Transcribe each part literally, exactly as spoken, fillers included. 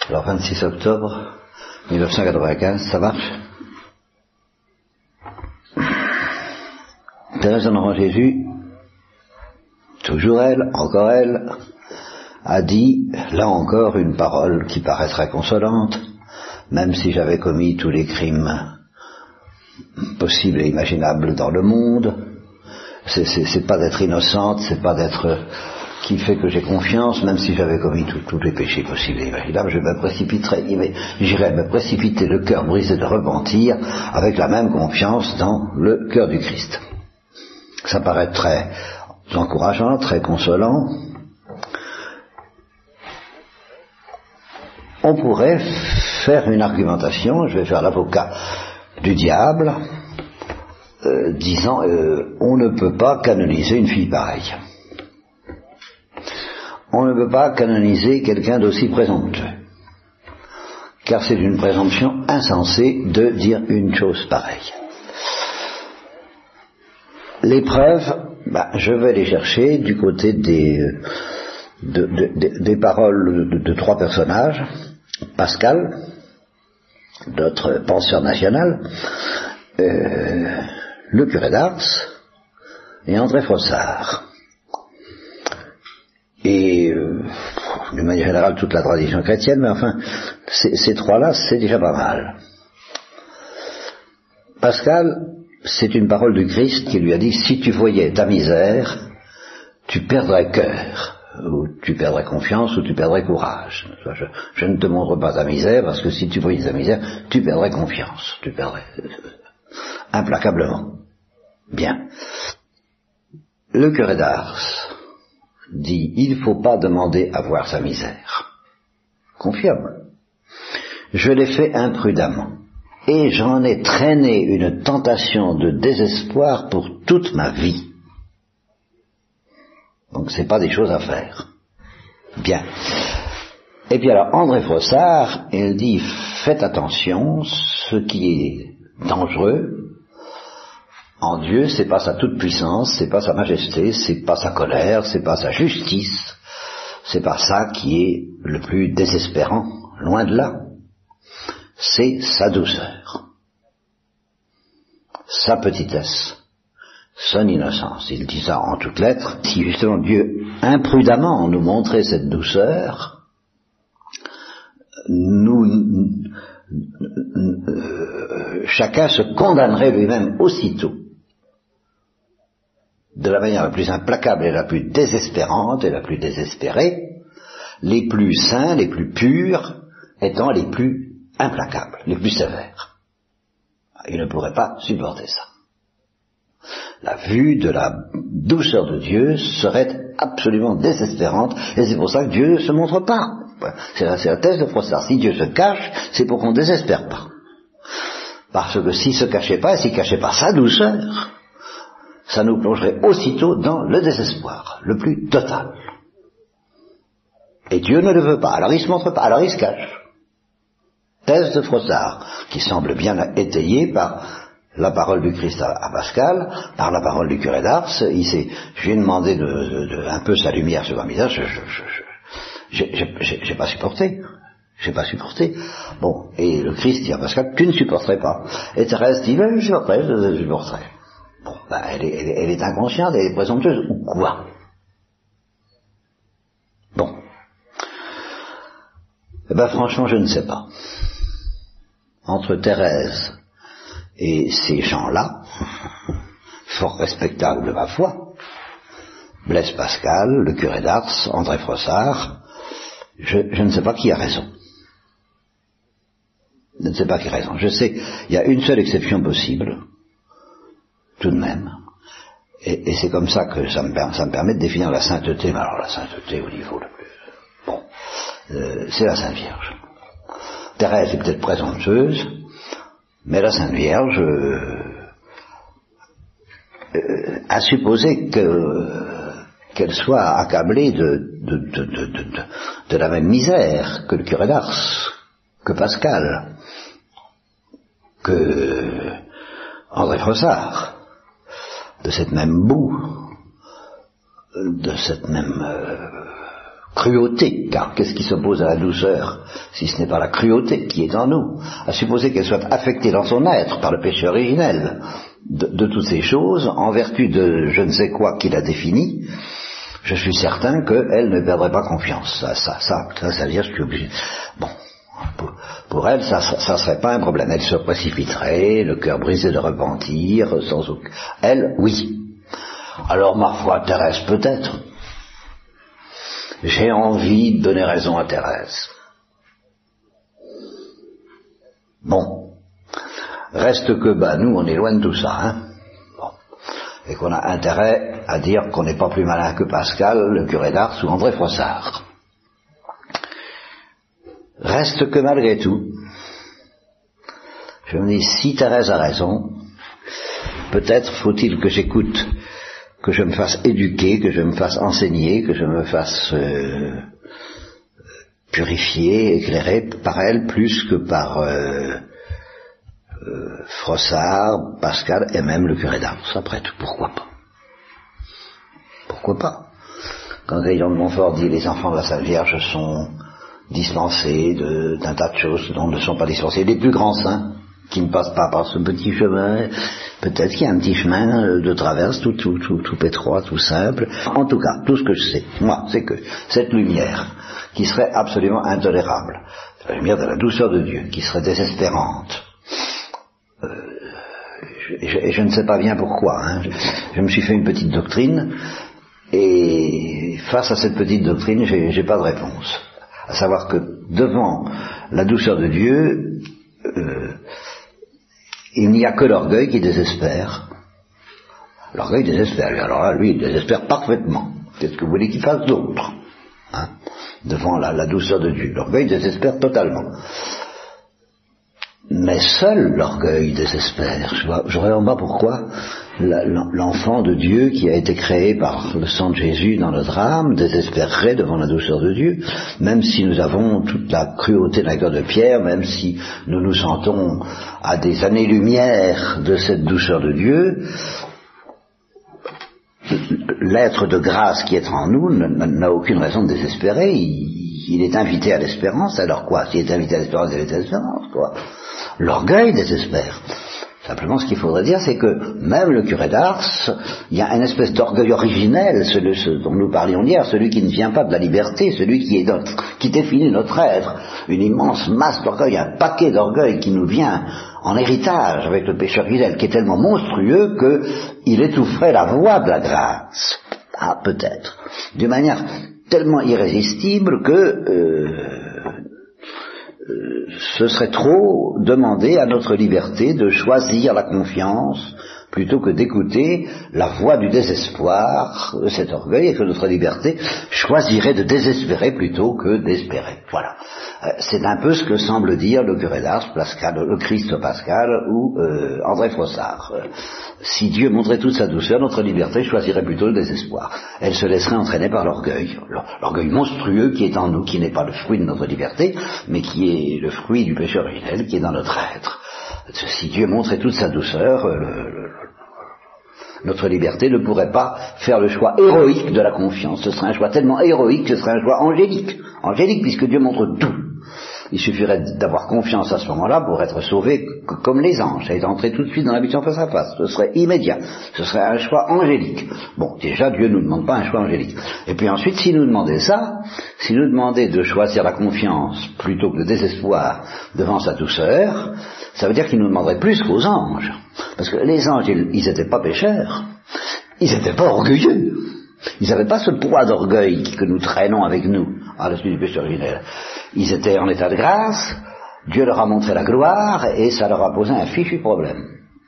Alors vingt-six octobre mille neuf cent quatre-vingt-quinze, ça marche? Thérèse de l'Enfant Jésus, toujours elle, encore elle, a dit, là encore, une parole qui paraîtrait consolante, même si j'avais commis tous les crimes possibles et imaginables dans le monde. C'est, c'est, c'est pas d'être innocente, c'est pas d'être qui fait que j'ai confiance, même si j'avais commis tous les péchés possibles et imaginables, je me précipiterais, j'irais me précipiter le cœur brisé de repentir avec la même confiance dans le cœur du Christ. Ça paraît très encourageant, très consolant. On pourrait faire une argumentation, je vais faire l'avocat du diable, euh, disant euh, on ne peut pas canoniser une fille pareille. On ne peut pas canoniser quelqu'un d'aussi présomptueux, car c'est une présomption insensée de dire une chose pareille. Les preuves, bah, je vais les chercher du côté des, de, de, de, des paroles de, de trois personnages, Pascal, notre penseur national, euh, le curé d'Ars et André Frossard. Et euh, d'une manière générale toute la tradition chrétienne, mais enfin ces, ces trois-là c'est déjà pas mal. Pascal, c'est une parole du Christ qui lui a dit, si tu voyais ta misère, tu perdrais cœur, ou tu perdrais confiance, ou tu perdrais courage. Je, je ne te montre pas ta misère, parce que si tu voyais ta misère, tu perdrais confiance, tu perdrais euh, implacablement. Bien. Le curé d'Ars dit, il ne faut pas demander à voir sa misère. Confirme. Je l'ai fait imprudemment. Et j'en ai traîné une tentation de désespoir pour toute ma vie. Donc c'est pas des choses à faire. Bien. Et puis alors André Frossard, il dit, faites attention, ce qui est dangereux en Dieu, c'est pas sa toute puissance, c'est pas sa majesté, c'est pas sa colère, c'est pas sa justice, c'est pas ça qui est le plus désespérant, loin de là. C'est sa douceur, sa petitesse, son innocence. Il dit ça en toutes lettres. Si justement Dieu imprudemment nous montrait cette douceur, nous, euh, chacun se condamnerait lui-même aussitôt, de la manière la plus implacable et la plus désespérante et la plus désespérée, les plus saints, les plus purs, étant les plus implacables, les plus sévères. Il ne pourrait pas supporter ça. La vue de la douceur de Dieu serait absolument désespérante, et c'est pour ça que Dieu ne se montre pas. C'est la, c'est la thèse de Frossard. Si Dieu se cache, c'est pour qu'on ne désespère pas. Parce que s'il ne se cachait pas, et s'il ne cachait pas sa douceur, ça nous plongerait aussitôt dans le désespoir, le plus total. Et Dieu ne le veut pas, alors il ne se montre pas, alors il se cache. Thèse de Frossard, qui semble bien étayée par la parole du Christ à, à Pascal, par la parole du curé d'Ars. Il s'est, je lui ai demandé de, de, de, un peu sa lumière sur ma misère, je, je, je, je, j'ai, j'ai, j'ai pas supporté, j'ai pas supporté. Bon, et le Christ dit à Pascal, tu ne supporterais pas. Et Thérèse dit, ben, je supporterais, je supporterais. Bon, ben, elle est, elle est, elle est inconsciente, elle est présomptueuse, ou quoi? Bon. Eh ben, franchement, je ne sais pas. Entre Thérèse et ces gens-là, fort respectables de ma foi, Blaise Pascal, le curé d'Ars, André Frossard, je, je ne sais pas qui a raison. Je ne sais pas qui a raison. Je sais, il y a une seule exception possible, tout de même, et, et c'est comme ça que ça me, ça me permet de définir la sainteté, mais alors la sainteté au niveau le plus... Bon, euh, c'est la Sainte Vierge. Thérèse est peut-être présomptueuse, mais la Sainte Vierge, euh, euh, a supposé que, euh, qu'elle soit accablée de, de, de, de, de, de, de la même misère que le curé d'Ars, que Pascal, que André Frossard, de cette même boue, de cette même, euh, cruauté, car qu'est-ce qui s'oppose à la douceur, si ce n'est pas la cruauté qui est en nous, à supposer qu'elle soit affectée dans son être par le péché originel de, de toutes ces choses, en vertu de je ne sais quoi qu'il a défini, je suis certain qu'elle ne perdrait pas confiance. Ça, ça, ça, ça, ça veut dire, je suis obligé. Bon. Pour, pour elle, ça ne serait pas un problème. Elle se précipiterait, le cœur brisé de repentir, sans aucun... Elle, oui. Alors ma foi, Thérèse, peut-être. J'ai envie de donner raison à Thérèse. Bon. Reste que, bah, nous, on est loin de tout ça, hein. Bon. Et qu'on a intérêt à dire qu'on n'est pas plus malin que Pascal, le curé d'Ars ou André Froissart. Reste que malgré tout, je me dis, si Thérèse a raison, peut-être faut-il que j'écoute, que je me fasse éduquer, que je me fasse enseigner, que je me fasse euh, purifier, éclairer par elle, plus que par euh, euh, Froissart, Pascal et même le curé d'Ars. Après tout, pourquoi pas? Pourquoi pas? Quand Gaillon de Montfort dit les enfants de la Sainte Vierge sont dispensés de, d'un tas de choses dont ne sont pas dispensés les plus grands saints, qui ne passent pas par ce petit chemin, peut-être qu'il y a un petit chemin de traverse tout, tout, tout, tout étroit, tout simple. En tout cas, tout ce que je sais, moi, c'est que cette lumière, qui serait absolument intolérable, la lumière de la douceur de Dieu, qui serait désespérante, euh, je, je, je ne sais pas bien pourquoi, hein. je, je me suis fait une petite doctrine, et face à cette petite doctrine, j'ai, j'ai pas de réponse. À savoir que devant la douceur de Dieu, euh, il n'y a que l'orgueil qui désespère. L'orgueil désespère. Alors là, lui, il désespère parfaitement. Qu'est-ce que vous voulez qu'il fasse d'autre, hein, devant la, la douceur de Dieu? L'orgueil désespère totalement. Mais seul l'orgueil désespère. Je voudrais en bas pourquoi la, l'enfant de Dieu qui a été créé par le sang de Jésus dans notre âme désespérerait devant la douceur de Dieu, même si nous avons toute la cruauté d'un cœur de pierre, même si nous nous sentons à des années-lumière de cette douceur de Dieu. L'être de grâce qui est en nous n'a aucune raison de désespérer. Il, il est invité à l'espérance. Alors quoi? S'il est invité à l'espérance, il est à l'espérance, quoi. L'orgueil désespère. Simplement, ce qu'il faudrait dire, c'est que même le curé d'Ars, il y a une espèce d'orgueil originel, celui ce dont nous parlions hier, celui qui ne vient pas de la liberté, celui qui est notre, qui définit notre être, une immense masse d'orgueil, un paquet d'orgueil qui nous vient en héritage avec le péché originel, qui est tellement monstrueux qu'il étoufferait la voix de la grâce. Ah, peut-être. D'une manière tellement irrésistible que... Euh, Euh, ce serait trop demander à notre liberté de choisir la confiance plutôt que d'écouter la voix du désespoir de cet orgueil, et que notre liberté choisirait de désespérer plutôt que d'espérer. Voilà. Euh, c'est un peu ce que semble dire le curé d'Ars, Pascal, le Christ Pascal ou euh, André Froissart. Euh, si Dieu montrait toute sa douceur, notre liberté choisirait plutôt le désespoir. Elle se laisserait entraîner par l'orgueil, l'orgueil monstrueux qui est en nous, qui n'est pas le fruit de notre liberté, mais qui est le fruit du péché originel qui est dans notre être. Si Dieu montrait toute sa douceur, le, le, notre liberté ne pourrait pas faire le choix héroïque de la confiance. Ce serait un choix tellement héroïque que ce serait un choix angélique. Angélique, puisque Dieu montre tout. Il suffirait d'avoir confiance à ce moment-là pour être sauvé comme les anges, et d'entrer tout de suite dans l'habitation face à face. Ce serait immédiat. Ce serait un choix angélique. Bon, déjà, Dieu ne nous demande pas un choix angélique. Et puis ensuite, s'il nous demandait ça, s'il nous demandait de choisir la confiance plutôt que le désespoir devant sa douceur, ça veut dire qu'il nous demanderait plus qu'aux anges. Parce que les anges, ils n'étaient pas pécheurs. Ils n'étaient pas orgueilleux. Ils n'avaient pas ce poids d'orgueil que nous traînons avec nous à la suite du péché originel. Ils étaient en état de grâce, Dieu leur a montré la gloire, et ça leur a posé un fichu problème.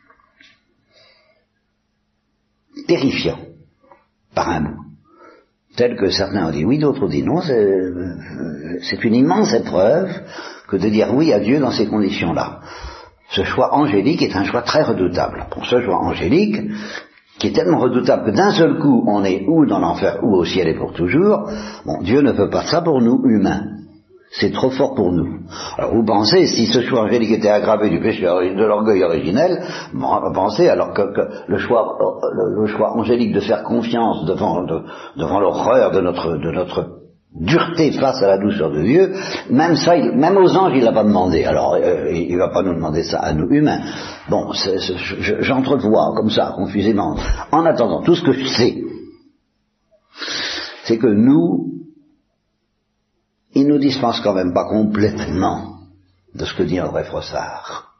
Terrifiant, par un mot. Tel que certains ont dit oui, d'autres ont dit non, c'est, c'est une immense épreuve que de dire oui à Dieu dans ces conditions-là. Ce choix angélique est un choix très redoutable. Pour ce choix angélique, qui est tellement redoutable que d'un seul coup, on est ou dans l'enfer ou au ciel et pour toujours, bon, Dieu ne veut pas ça pour nous, humains. C'est trop fort pour nous. Alors vous pensez, si ce choix angélique était aggravé du péché de l'orgueil originel, bon, pensez alors que, que le choix le, le choix angélique de faire confiance devant, de, devant l'horreur de notre, de notre dureté face à la douceur de Dieu, même ça, il, même aux anges, il l'a pas demandé. Alors, euh, il va pas nous demander ça à nous humains. Bon, c'est, c'est, je, j'entrevois comme ça, confusément. En attendant, tout ce que je sais, c'est que nous, il nous dispense quand même pas complètement de ce que dit André Frossard.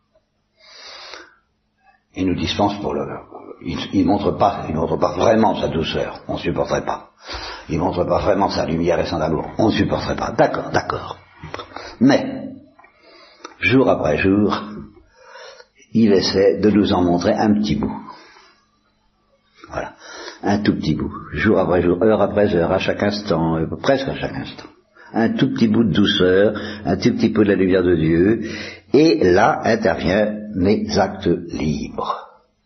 Il nous dispense pour le... Il, il montre pas, il montre pas vraiment sa douceur, on ne supporterait pas. Il montre pas vraiment sa lumière et son amour, on ne supporterait pas. D'accord, d'accord. Mais, jour après jour, il essaie de nous en montrer un petit bout. Voilà. Un tout petit bout. Jour après jour, heure après heure, à chaque instant, euh, presque à chaque instant. Un tout petit bout de douceur, un tout petit peu de la lumière de Dieu, et là interviennent mes actes libres.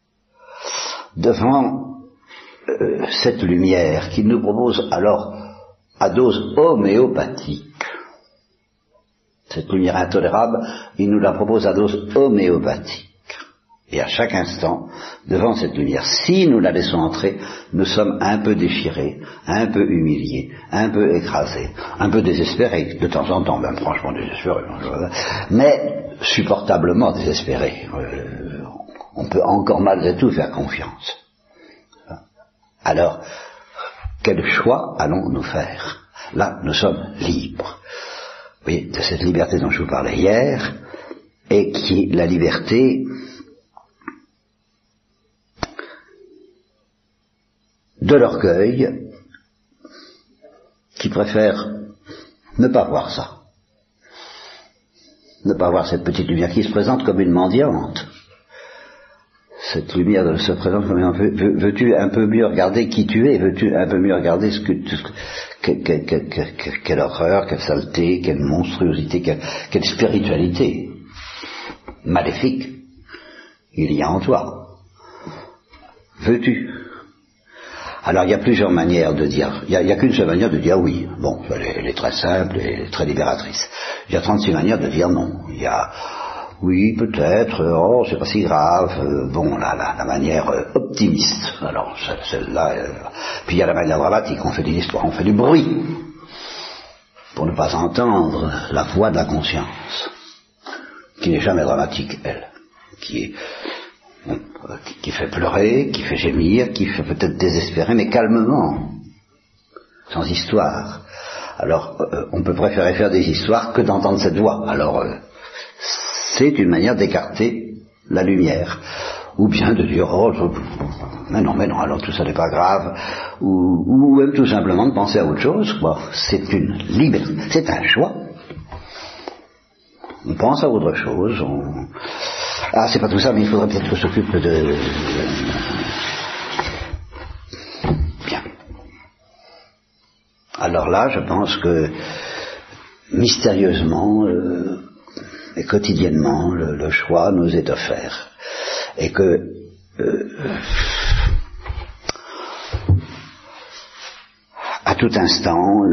Devant euh, cette lumière qu'il nous propose alors à dose homéopathique, cette lumière intolérable, il nous la propose à dose homéopathique. Et à chaque instant, devant cette lumière, si nous la laissons entrer, nous sommes un peu déchirés, un peu humiliés, un peu écrasés, un peu désespérés, de temps en temps, même franchement désespérés, mais supportablement désespérés. Euh, on peut encore malgré tout faire confiance. Alors, quel choix allons-nous faire? Là, nous sommes libres. Vous voyez, de cette liberté dont je vous parlais hier, et qui est la liberté de l'orgueil, qui préfère ne pas voir ça, ne pas voir cette petite lumière qui se présente comme une mendiante. Cette lumière se présente comme une... Veux, veux-tu un peu mieux regarder qui tu es? Veux-tu un peu mieux regarder ce que... Ce que quelle, quelle, quelle, quelle horreur, quelle saleté, quelle monstruosité, quelle, quelle spiritualité maléfique il y a en toi. Veux-tu? Alors il y a plusieurs manières de dire, il n'y a, a qu'une seule manière de dire oui. Bon, elle est, elle est très simple et très libératrice. Il y a trente-six manières de dire non. Il y a oui, peut-être, oh, c'est pas si grave, euh, bon, la, la, la manière euh, optimiste, alors celle-là, euh, puis il y a la manière dramatique, on fait des histoires, on fait du bruit, pour ne pas entendre la voix de la conscience, qui n'est jamais dramatique, elle, qui est, bon, euh, qui, qui fait pleurer, qui fait gémir, qui fait peut-être désespérer, mais calmement, sans histoire. Alors, euh, on peut préférer faire des histoires que d'entendre cette voix, alors... Euh, c'est une manière d'écarter la lumière, ou bien de dire oh je... mais non mais non alors tout ça n'est pas grave, ou, ou même tout simplement de penser à autre chose. Bon, c'est une liberté, c'est un choix. On pense à autre chose. On... Ah c'est pas tout ça, mais il faudrait peut-être qu'on s'occupe de. Bien. Alors là, je pense que mystérieusement. Euh... Et quotidiennement, le, le choix nous est offert. Et que euh, à tout instant,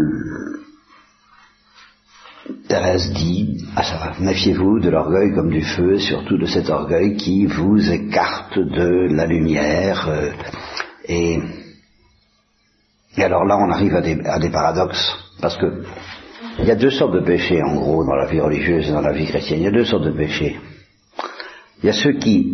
Thérèse dit, ah ça va, méfiez-vous de l'orgueil comme du feu, surtout de cet orgueil qui vous écarte de la lumière. Euh, et, et alors là, on arrive à des, à des paradoxes, parce que il y a deux sortes de péchés, en gros, dans la vie religieuse et dans la vie chrétienne. Il y a deux sortes de péchés. Il y a ceux qui...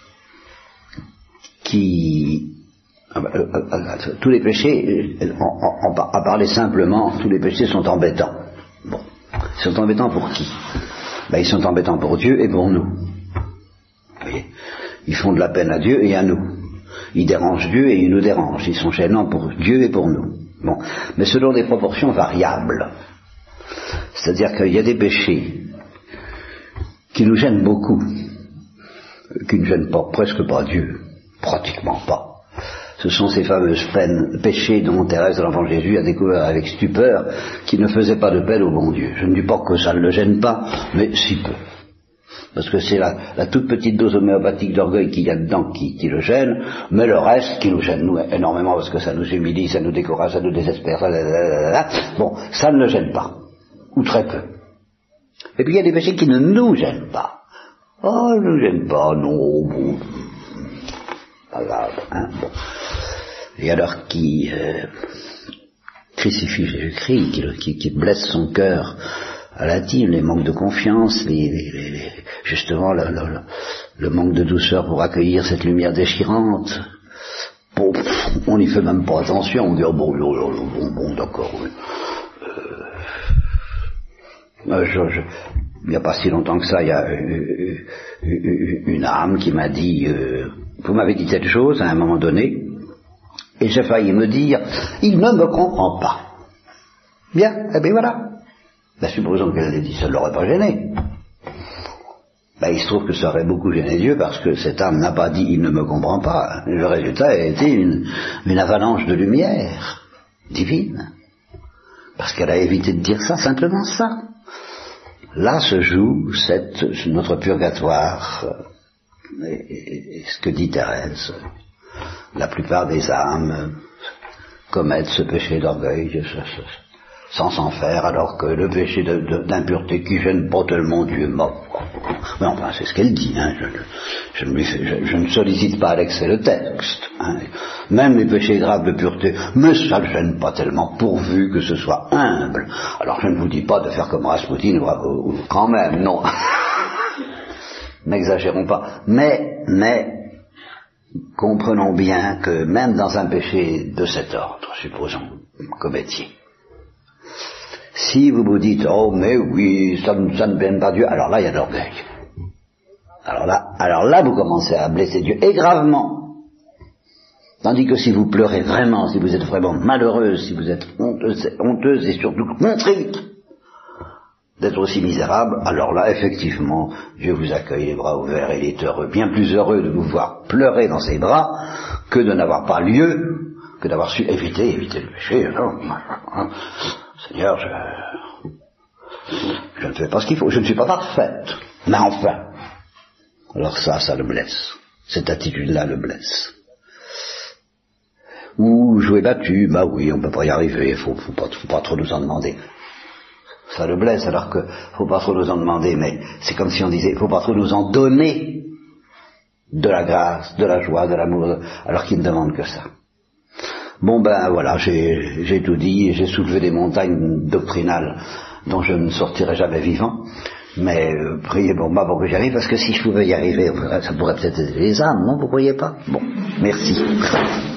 qui... Euh, euh, euh, tous les péchés, en, en, en, à parler simplement, tous les péchés sont embêtants. Bon. Ils sont embêtants pour qui? Ben, ils sont embêtants pour Dieu et pour nous. Vous voyez? Ils font de la peine à Dieu et à nous. Ils dérangent Dieu et ils nous dérangent. Ils sont gênants pour Dieu et pour nous. Bon. Mais selon des proportions variables. C'est-à-dire qu'il y a des péchés qui nous gênent beaucoup, qui ne gênent pas, presque pas Dieu, pratiquement pas. Ce sont ces fameuses peines, péchés dont Thérèse de l'Enfant Jésus a découvert avec stupeur, qui ne faisaient pas de peine au bon Dieu. Je ne dis pas que ça ne le gêne pas, mais si peu. Parce que c'est la, la toute petite dose homéopathique d'orgueil qu'il y a dedans qui, qui le gêne, mais le reste qui nous gêne nous énormément parce que ça nous humilie, ça nous décourage, ça nous désespère, bon, ça ne le gêne pas. Ou très peu. Et puis il y a des péchés qui ne nous gênent pas. Oh, ne nous gênent pas, non, bon, pas grave, hein, bon. Et alors qui, euh, crucifie Jésus-Christ, qui, qui, qui blesse son cœur à l'intime, les manques de confiance, les, les, les, justement le, le, le manque de douceur pour accueillir cette lumière déchirante. Bon, on n'y fait même pas attention, on dit oh, bon, bon, bon, bon d'accord. Oui. Euh, je, je, il n'y a pas si longtemps que ça, il y a euh, une âme qui m'a dit euh, vous m'avez dit telle chose à un moment donné, et j'ai failli me dire il ne me comprend pas. Bien, eh bien voilà. Ben, supposons qu'elle l'ait dit, ça ne l'aurait pas gêné. Ben, il se trouve que ça aurait beaucoup gêné Dieu parce que cette âme n'a pas dit il ne me comprend pas. Le résultat a été une, une avalanche de lumière divine. Parce qu'elle a évité de dire ça, simplement ça. Là se joue cette, notre purgatoire, et, et, et ce que dit Thérèse. La plupart des âmes commettent ce péché d'orgueil, sans s'en faire, alors que le péché de, de, d'impureté qui gêne pas tellement Dieu mort. Mais enfin, c'est ce qu'elle dit. Hein. Je, je, je, je, je, je ne sollicite pas à l'excès le texte. Hein. Même les péchés graves de pureté, mais ça ne gêne pas tellement, pourvu que ce soit humble. Alors je ne vous dis pas de faire comme Rasputin, ou, ou, quand même, non. N'exagérons pas. Mais, mais, comprenons bien que même dans un péché de cet ordre, supposons, commettiez, si vous vous dites, oh mais oui, ça, ça ne blâme pas Dieu, alors là il y a de l'orgueil. Alors là, alors là vous commencez à blesser Dieu, et gravement. Tandis que si vous pleurez vraiment, si vous êtes vraiment malheureuse, si vous êtes honteuse, honteuse et surtout contrite d'être aussi misérable, alors là effectivement, Dieu vous accueille les bras ouverts et il est heureux, bien plus heureux de vous voir pleurer dans ses bras que de n'avoir pas lieu, que d'avoir su éviter, éviter le péché. Alors, Seigneur, je, je ne fais pas ce qu'il faut, je ne suis pas parfaite, mais enfin. Alors ça, ça le blesse. Cette attitude-là le blesse. Ou jouer battu, bah oui, on ne peut pas y arriver, il faut, faut, pas, faut pas trop nous en demander. Ça le blesse, alors que faut pas trop nous en demander, mais c'est comme si on disait, faut pas trop nous en donner de la grâce, de la joie, de l'amour, alors qu'il ne demande que ça. Bon ben voilà, j'ai, j'ai tout dit, j'ai soulevé des montagnes doctrinales dont je ne sortirai jamais vivant, mais euh, priez pour moi pour que j'y arrive, parce que si je pouvais y arriver, ça pourrait peut-être aider les âmes, non, vous croyez pas? Bon, merci.